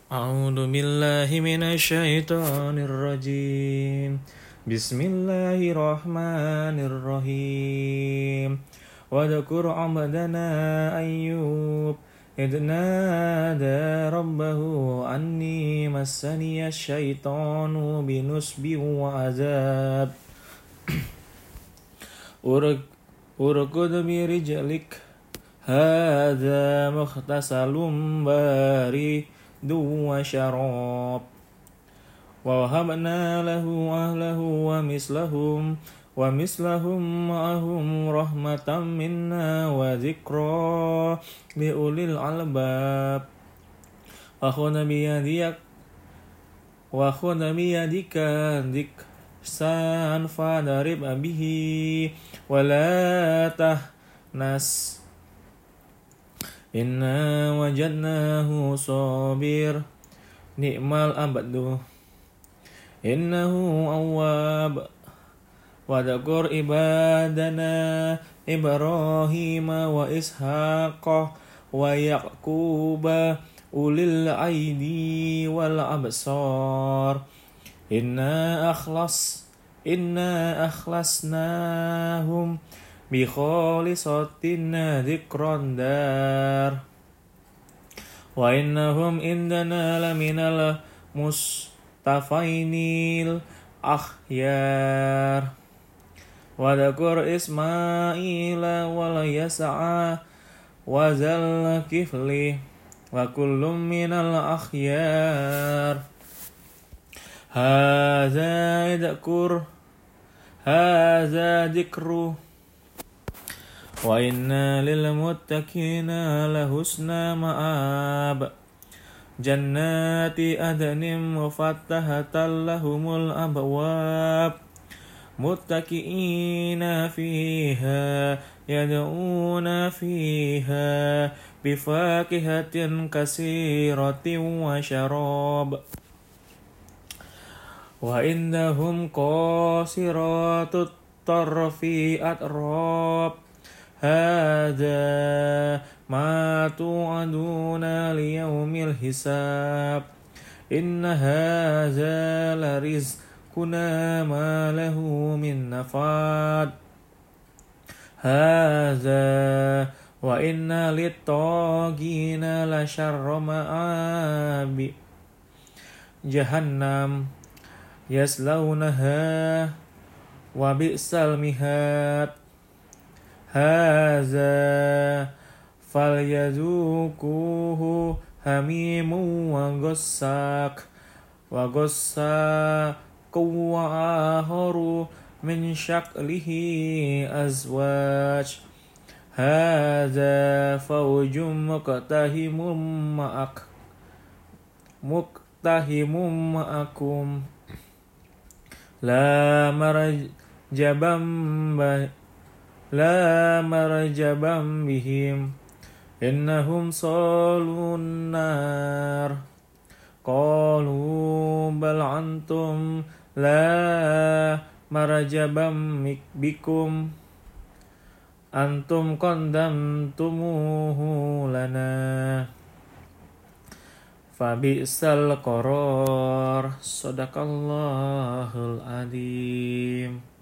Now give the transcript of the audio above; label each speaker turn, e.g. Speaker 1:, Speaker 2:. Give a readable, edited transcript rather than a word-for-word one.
Speaker 1: أعوذ بالله من الشيطان الرجيم بسم الله الرحمن الرحيم واذكر عبدنا أيوب إذ نادى ربه أني مسني الشيطان بنصب وعذاب اركض برجلك هذا مغتسل بارد وشراب ووهبنا له أهله ومثلهم معهم رحمة منا وذكرى لأولي الألباب وخذ بيدك ضغثا فاضرب به ولا تحنث Inna wajadnahu sabir ni'mal abdu innahu awwab wadhkur ibadana Ibrahima wa Ishaqa wa Yaquba ulil aidi wal absar inna akhlasnahum bi khalisatin dzikran dar wa innahum indana laminal mustafainil akhyar wa dzkur Ismaila wal Yas'a wa zal kifli wa kullum minal akhyar hadza dzikru wa inna lil muttaqina lahusna ma'ab jannati adnin mufattahatan lahumul abwab muttaqiina fiha yad'una fiha bifakihatin kasiratin wa syarab wa indahum qasiratut tarfi atrab Hada ma tu'aduna liyaumil hisab Inna hadza larizquna ma lahu min nafad Hadza wa inna littaqina la syarra ma'abi Jahannam yaslaunaha wa bi'sal mihad Haza falyazuquhu hamimu wa ghassak wa akharu min shaklihi azwaj Haza fawjum muqtahimum ma'akum La marjabam bihim innahum salun nar qalu bal antum la marjabam bikum antum qandamtumuhu lana fabi'sal qarar sadaqallahul adzim.